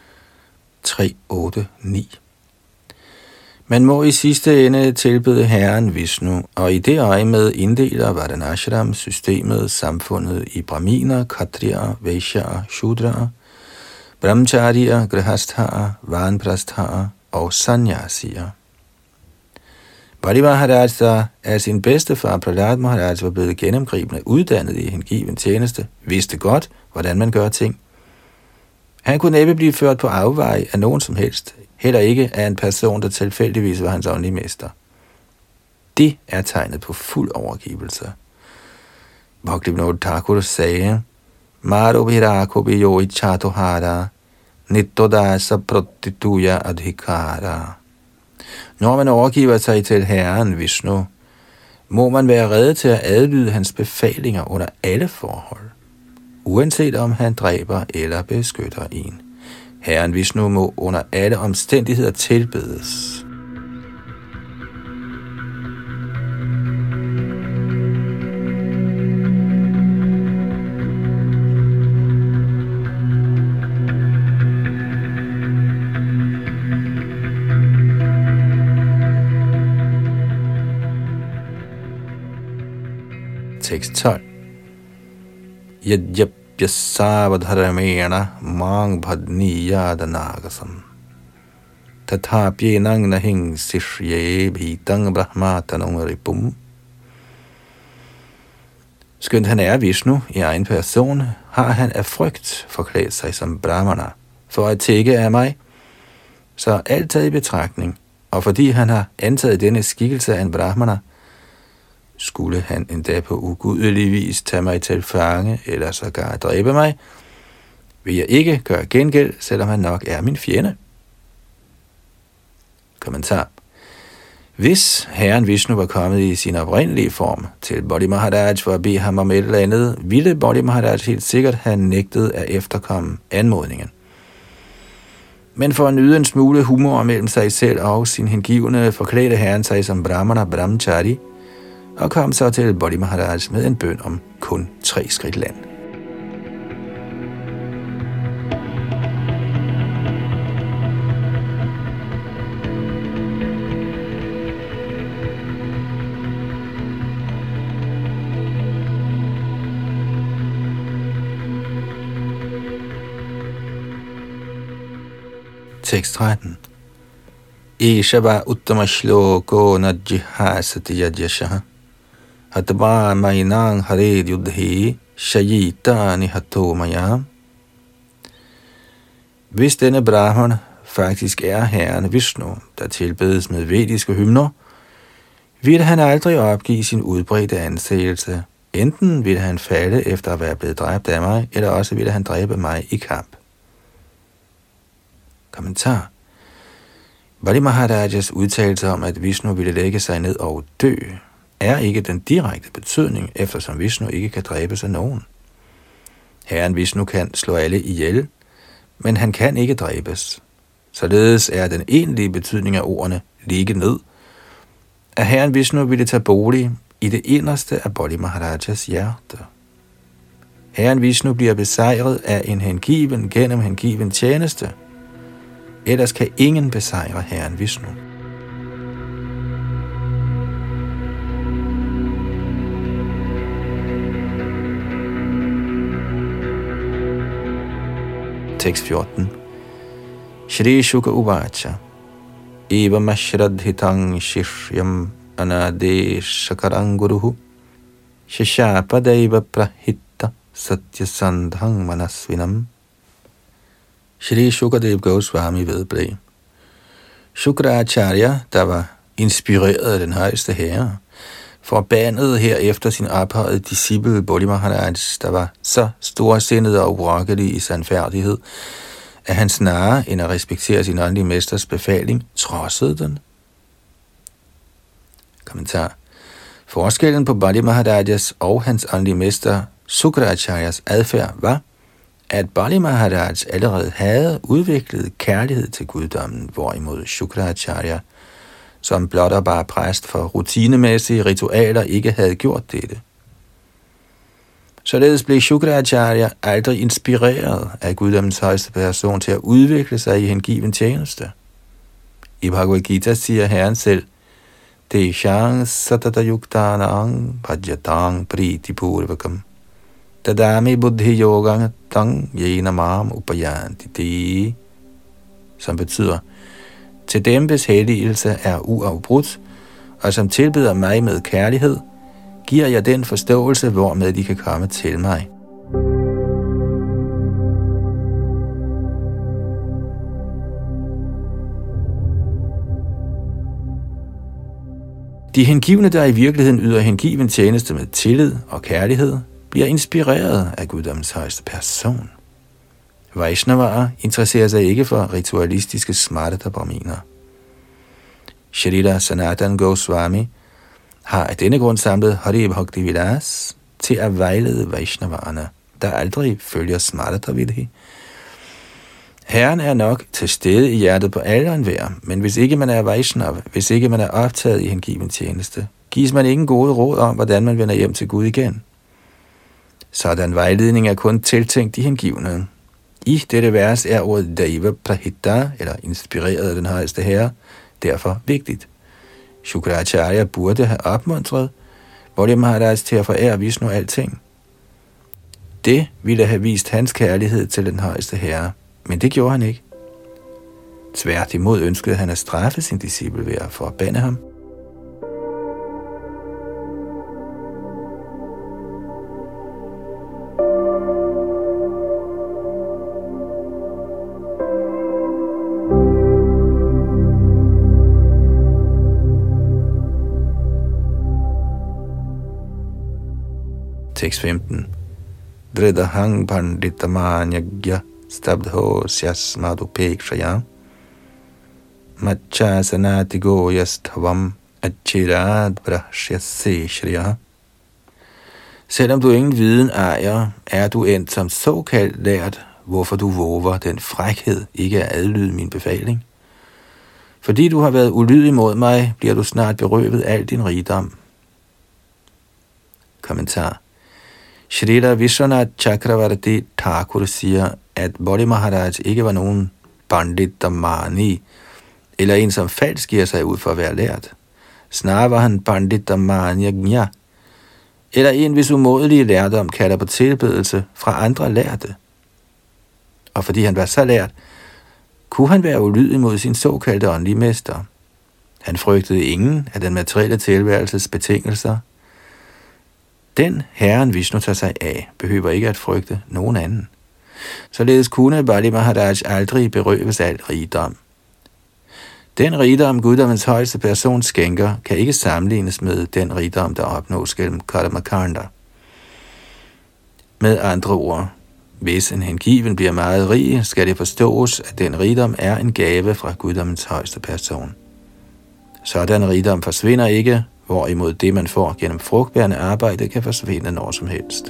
3.8.9. Man må i sidste ende tilbede Herren Vishnu, og i det øjemed inddeler Vardhanashram systemet samfundet i brahminer, kshatriyer, vaishyaer, shudrer, brahmacharier, grihasthaer, vanprasthaer og sannyasier. Bali Maharaj, der af sin bedstefar Prahlad Maharaj var blevet gennemgribende uddannet i hengiven tjeneste, vidste godt, hvordan man gør ting. Han kunne næppe blive ført på afveje af nogen som helst, heller ikke af en person, der tilfældigvis var hans åndelige mester. Det er tegnet på fuld overgivelse. Bhaktivinoda Thakur sagde, Marubhirako biyo ichatohara, nittodasa pratituya adhikara. Når man overgiver sig til Herren Vishnu, må man være rede til at adlyde hans befalinger under alle forhold, uanset om han dræber eller beskytter en. Herren Vishnu må under alle omstændigheder tilbedes. Tekst 12. Yajapyasavadharamena mang bhadniyadanagasam tathapyenang nahing sishye bhitang brahmatanung ripum. Skønt han er Vishnu i egen person, har han af frygt forklædt sig som brahmana for at tække af mig, så alt taget i betragtning, og fordi han har antaget denne skikkelse af en brahmana, skulle han endda på ugudelig vis tage mig til fange, eller sågar dræbe mig, vil jeg ikke gøre gengæld, selvom han nok er min fjende. Kommentar. Hvis Herren Vishnu var kommet i sin oprindelige form til Bali Maharaj for at bede ham om et eller andet, ville Bali Maharaj helt sikkert have nægtet at efterkomme anmodningen. Men for at nyde en smule humor mellem sig selv og sin hengivne, forklædte Herren sig som brahmana brahmachari, og kom så til Bali Maharaj med en bøn om kun 3 skridt land. Tekst 13. Ishava uttama shloko najjihasati yajyashaha Hatva mainang hared yudhi shayita nihato maya. Hvis denne brahman faktisk er Herren Vishnu, der tilbedes med vediske hymner, vil han aldrig opgive sin udbredte anseelse. Enten vil han falde efter at være blevet dræbt af mig, eller også vil han dræbe mig i kamp. Kommentar. Bali Maharajas udtalelse om, at Vishnu ville lægge sig ned og dø, er ikke den direkte betydning, eftersom Vishnu ikke kan dræbes af nogen. Herren Vishnu kan slå alle ihjel, men han kan ikke dræbes. Således er den egentlige betydning af ordene ligge ned, at Herren Vishnu ville tage bolig i det inderste af Bali Maharajas hjerte. Herren Vishnu bliver besejret af en hengiven gennem hengiven tjeneste. ellers kan ingen besejre Herren Vishnu. Tekst 14. Shri Shuka Uvacha Evam ashradhitang shishyam anadeshakaram guruhu Shishapadaiva prahitta satyasandhang manasvinam. Shri Shukadev Goswami vedblev: Shukracharya, der var inspireret af den højeste herre, forbandede herefter sin ophøjede disciple Bali Maharaj, der var så storsindet og urokkelig i sandfærdighed, at han snarere end at respektere sin åndelige mesters befaling, trodsede den. Kommentar. Forskellen på Bali Maharajas og hans åndelige mester Shukracharyas adfærd var, at Bali Maharaj allerede havde udviklet kærlighed til guddommen, hvorimod Shukracharya, som blot og bare præst for rutinemæssige ritualer, ikke havde gjort dette. Således blev Shukracharya aldrig inspireret af guddommens højeste person til at udvikle sig i hengiven tjeneste. I Bhagavad Gita siger Herren selv: Deshang satata yuktanang bhajatang priti purvakam tadami buddhi yogang tang yena mam upayanti, som betyder: til dem, hvis helligelse er uafbrudt, og som tilbeder mig med kærlighed, giver jeg den forståelse, hvormed de kan komme til mig. De hengivne, der i virkeligheden yder hengiven tjeneste med tillid og kærlighed, bliver inspireret af guddommens højeste person. Vaishnavaer interesserer sig ikke for ritualistiske smartadabraminer. Shrila Sanatan Goswami har af denne grund samlet Hari Bhakti Vilas til at vejlede Vaishnavaerne, der aldrig følger smartadavidhi. Herren er nok til stede i hjertet på alle og enhver, men hvis ikke man er Vaishnav, hvis ikke man er optaget i hengiven tjeneste, gives man ingen gode råd om, hvordan man vender hjem til Gud igen. Sådan vejledning er kun tiltænkt de hengivne. I dette vers er ordet Daiva Prahitta, eller inspireret af den højeste herre, derfor vigtigt. Shukracharya burde have opmuntret Bali Maharaj til at forære Vishnu alting. Det ville have vist hans kærlighed til den højeste herre, men det gjorde han ikke. Tværtimod ønskede han at straffe sin disciple ved at forbande ham. Tekst 15. Dridahang panditamanyagya stabdho syasmadupekshaya machasanatigo yasthavam achirad brahshyase shriya. Selvom du ingen viden ejer, er du endt som såkaldt lært, hvorfor du vover den frækhed ikke at adlyde min befaling. Fordi du har været ulydig mod mig, bliver du snart berøvet al din rigdom. Kommentar. Shrila Vishwanath Chakravarti Thakur siger, at Bali Maharaj ikke var nogen Pandit Damani, eller en, som falsk giver sig ud for at være lært. Snarere var han Pandit Damanyagnya, eller en, hvis umådelige lærdom kalder på tilbedelse fra andre lærte. Og fordi han var så lært, kunne han være ulydig mod sin såkaldte åndelige mester. Han frygtede ingen af den materielle tilværelses betingelser. Den Herren Vishnu tager sig af, behøver ikke at frygte nogen anden. Således kunne Bali Maharaj aldrig berøves al rigdom. Den rigdom, guddommens højeste person skænker, kan ikke sammenlignes med den rigdom, der opnås gennem Karmakanda. Med andre ord, hvis en hengiven bliver meget rig, skal det forstås, at den rigdom er en gave fra guddommens højeste person. Sådan rigdom forsvinder ikke, hvorimod det, man får gennem frugtbærende arbejde, kan forsvinde når som helst.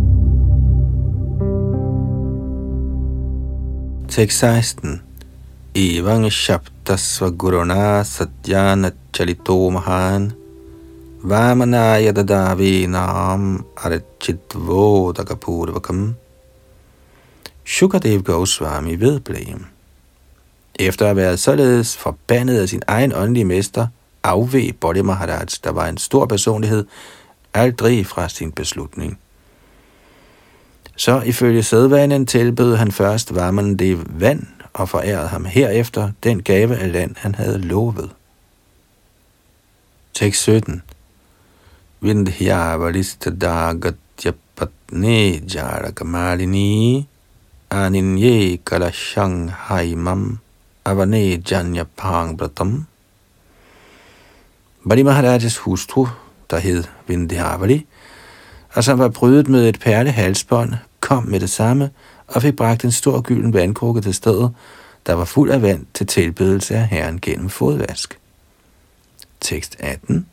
Tekst 16. Evang Shabdasva Guruna Satyana Chalito Mahan Vamanaya Dadavi Nam Arachitvo Dagapurvakam. Shukadev Goswami vedblev. Efter at have været således forbandet af sin egen åndelige mester, afveg Bali Maharaj, der var en stor personlighed, aldrig fra sin beslutning. Så ifølge sædvanen tilbød han først Vamandev vand og forærede ham herefter den gave af land, han havde lovet. Tekst 17. Vindhyavalis-tadagatya-patne jaragamalini aninye kalashang haimam avane janya-pang-bratam. Bali Maharajas hustru, der hed Vindhyavali, og som var prydet med et perlehalsbånd, kom med det samme og fik bragt en stor gylden vandkrukke til stedet, der var fuld af vand til tilbedelse af Herren gennem fodvask. Tekst 18.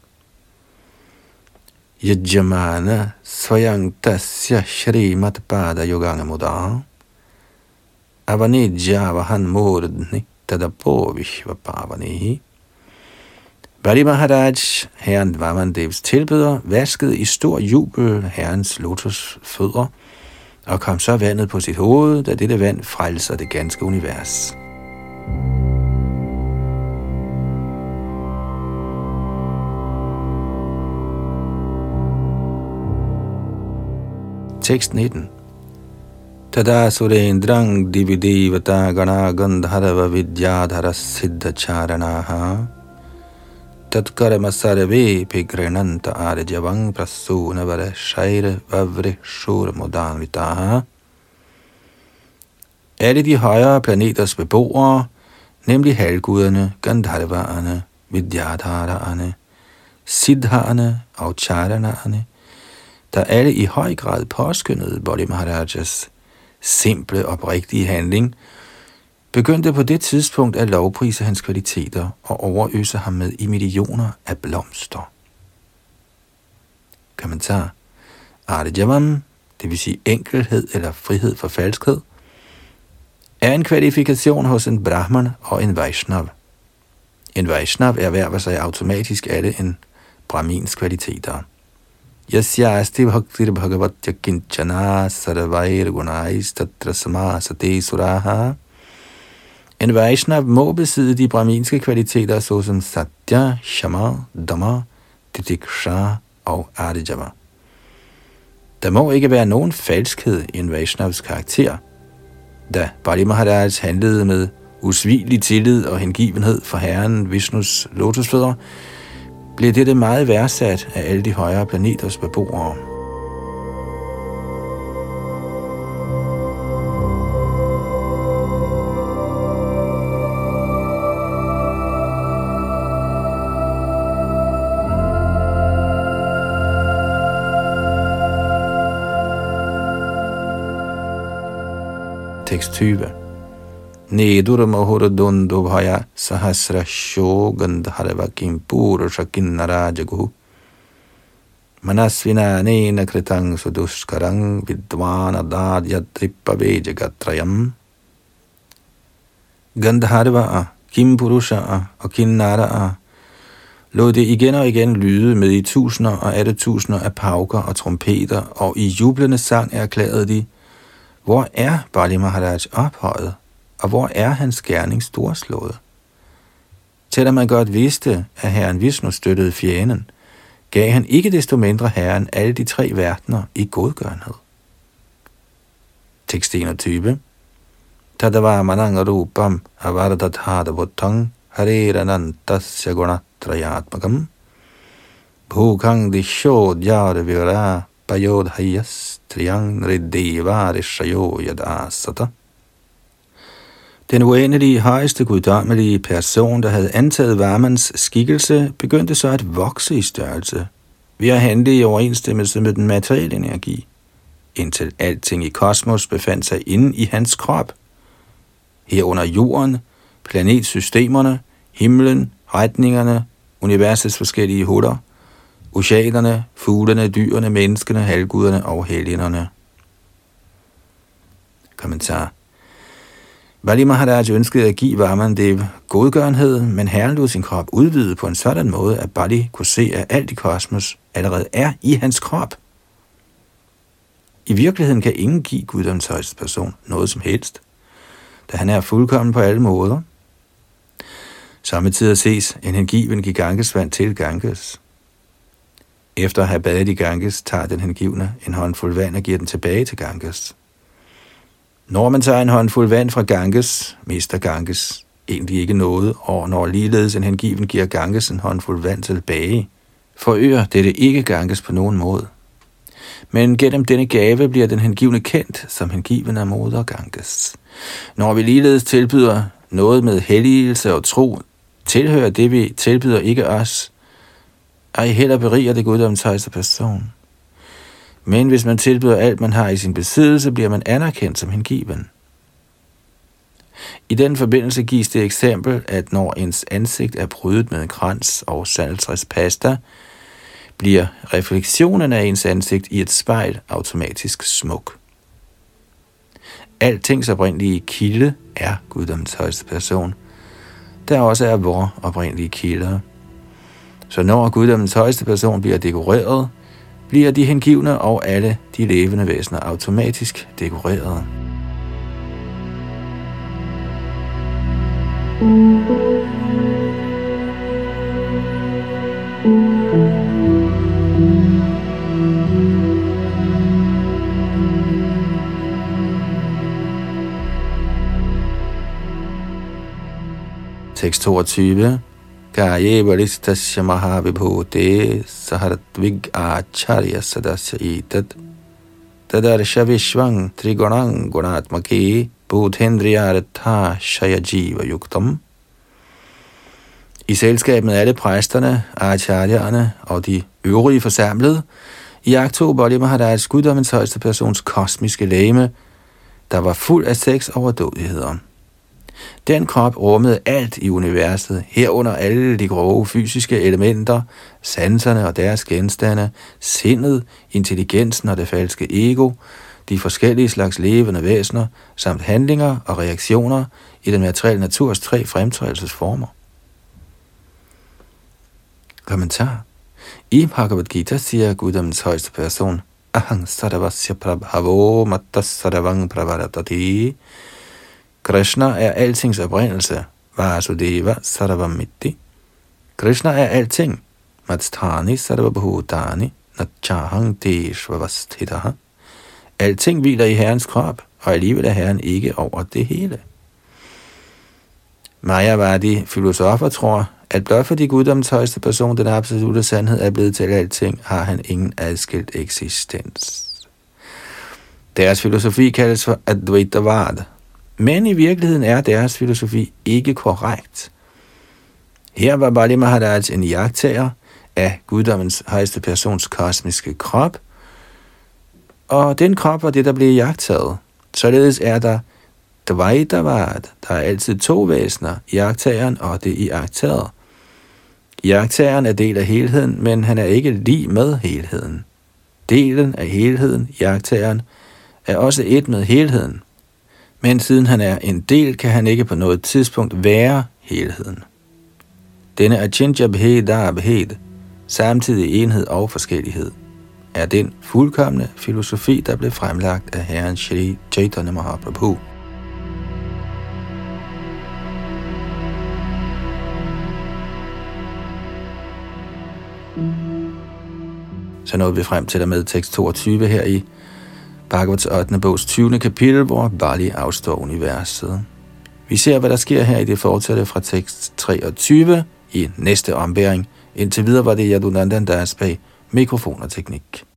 Yajamana svayang tasya shrimat pada yoganga mudar avanidja vahan murdni tadapo vishvapavanehi. Bali Maharaj, herren Vamandevs tilbeder, vaskede i stor jubel herrens lotusfødder, og kom så vandet på sit hoved, da dette vand frelser det ganske univers. Tekst 19. Tada surendrang dividevata gana gandharva vidyadhara siddhacharanaha tatkarma sarve pigrenanta arjavang prasunavara shaira vavre shur modanvitaha. Alle de højere planeters beboere, nemlig halvguderne, gandharvaerne, vidyadharaerne, siddhaerne og charanaerne, der alle i høj grad påskyndede Bali Maharajas simple og oprigtige handling, begyndte på det tidspunkt at lovprise hans kvaliteter og overøse ham med i millioner af blomster. Kommentar. Arjavam, det vil sige enkelhed eller frihed for falskhed, er en kvalifikation hos en brahman og en vaishnav. En vaishnav erhverver sig automatisk alle en brahmins kvaliteter. Yasyasti bhaktir bhagavatya kinchana sarvair gunais tatra samasate suraha. En Vaishnav må besidde de brahminske kvaliteter såsom Satya, Shama, Dhamma, Titiksha og Arjava. Der må ikke være nogen falskhed i en Vaishnavs karakter. Da Bali Maharaj handlede med usvigelig tillid og hengivenhed for herren Vishnus lotusfødder, blev dette meget værdsat af alle de højere planeters beboere. Tekst 20. Nedur mahuradundu bhaya sahasra shogandharva kimpurusha kinnarajagu manasvinanena kritang suduskarang vidvanadadyatripavejaгатрayam. Gandharvaer, kimpurushaer og kinnaraer lod det igen og igen lyde med i tusinder og atte tusinder af pauker og trompeter, og i jublende sang erklærede de: hvor er Bali Maharaj ophøjet, og hvor er hans gerning storslået? Selvom man godt vidste, at herren Vishnu støttede fjenden, gav han ikke desto mindre herren alle de tre verdener i godgørenhed. Tekst 21. Tadava manangarupam avardadhadavotang hareranantasya gunatrayatmakam bhukang disho dhyara vira payodhayas triyang riddeva rishayo yadasata. Den uendelige, højeste guddommelige person, der havde antaget Vamans skikkelse, begyndte så at vokse i størrelse ved at handle i overensstemmelse med den materielle energi, indtil alting i kosmos befandt sig inde i hans krop. Herunder jorden, planetsystemerne, himlen, retningerne, universets forskellige huller, oceanerne, fuglene, dyrene, menneskene, halvguderne og helgenerne. Kommentar. Bali Maharaj ønskede at give Vamandev godgørenhed, men Herren lod sin krop udvide på en sådan måde, at Bali kunne se, at alt i kosmos allerede er i hans krop. I virkeligheden kan ingen give guddommens højeste person noget som helst, da han er fuldkommen på alle måder. Samtidig ses en hengiven give Ganges vand til Ganges. Efter at have badet i Ganges, tager den hengivne en håndfuld vand og giver den tilbage til Ganges. Når man tager en håndfuld vand fra Ganges, mister Ganges egentlig ikke noget, og når ligeledes en hengiven giver Ganges en håndfuld vand tilbage, forøger dette ikke Ganges på nogen måde. Men gennem denne gave bliver den hengivne kendt som hengiven af moder Ganges. Når vi ligeledes tilbyder noget med helligelse og tro, tilhører det, vi tilbyder ikke os, ej heller beriger det guddommens højeste person. Men hvis man tilbyder alt, man har i sin besiddelse, bliver man anerkendt som hengiven. I den forbindelse gives det eksempel, at når ens ansigt er prydet med en krans og saltræspasta, bliver refleksionen af ens ansigt i et spejl automatisk smuk. Altings oprindelige kilde er guddommens højeste person, der også er vor oprindelige kilder. Så når guddommens højeste person bliver dekoreret, bliver de hengivne og alle de levende væsener automatisk dekoreret. Tekst 22. Kaye balistasya mahavibhute saharadvig acharya sadasya etat tadarsha vishvang trigunang gunatmake bodhendriyartha shayajiva yuktam. I selskab med alle præsterne, acharyerne og de øvrige forsamlede, iagttog Bali Maharaj guddommens højeste persons kosmiske legeme, der var fuld af 6 overdådigheder. Den krop rummede alt i universet, herunder alle de grove fysiske elementer, sanserne og deres genstande, sindet, intelligensen og det falske ego, de forskellige slags levende væsener, samt handlinger og reaktioner i den materielle naturs 3 fremtrædelsesformer. Kommentar. I Bhagavad Gita siger guddommens højeste person, Ahang sarvasya prabhavo mattas sarvang pravaratati. Krishna er altings oprindelse, Vasudeva sarvamitti. Krishna er alting, Matstani sarvabhutani, Natchahang deshvavasthitaha. Alting hviler i Herrens krop, og alligevel er Herren ikke over det hele. Mayavadi filosofer tror, at blot fordi guddommens højeste person, den absolute sandhed, er blevet til alting, har han ingen adskilt eksistens. Deres filosofi kaldes for Advaitavad. Men i virkeligheden er deres filosofi ikke korrekt. Her var Bali Maharaj en iagttager af guddommens højeste persons kosmiske krop, og den krop var det, der blev iagttaget. Således er der Dvaitavad, der er altid 2 væsener, iagttageren og det iagttagede. Iagttageren er del af helheden, men han er ikke lig med helheden. Delen af helheden, iagttageren, er også et med helheden. Men siden han er en del, kan han ikke på noget tidspunkt være helheden. Denne achintya bheda abhed, samtidig enhed og forskellighed, er den fuldkomne filosofi, der blev fremlagt af Herren Shri Chaitanya Mahaprabhu. Så nåede vi frem til og med tekst 22 her i Bhagavats 8. bogs 20. kapitel, hvor Bali afstår universet. Vi ser, hvad der sker her i det fortsatte fra tekst 23 i næste ombæring. Indtil videre var det Yadunandan Das bag mikrofon og teknik.